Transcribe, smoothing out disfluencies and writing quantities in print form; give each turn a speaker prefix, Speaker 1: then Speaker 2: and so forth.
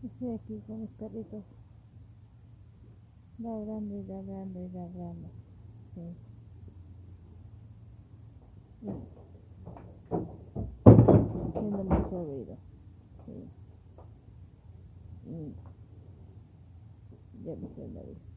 Speaker 1: Estoy aquí con mis perritos, ladrando y ladrando y ladrando. Sí. Haciendo mucho ruido. Sí. Ya viste la vida.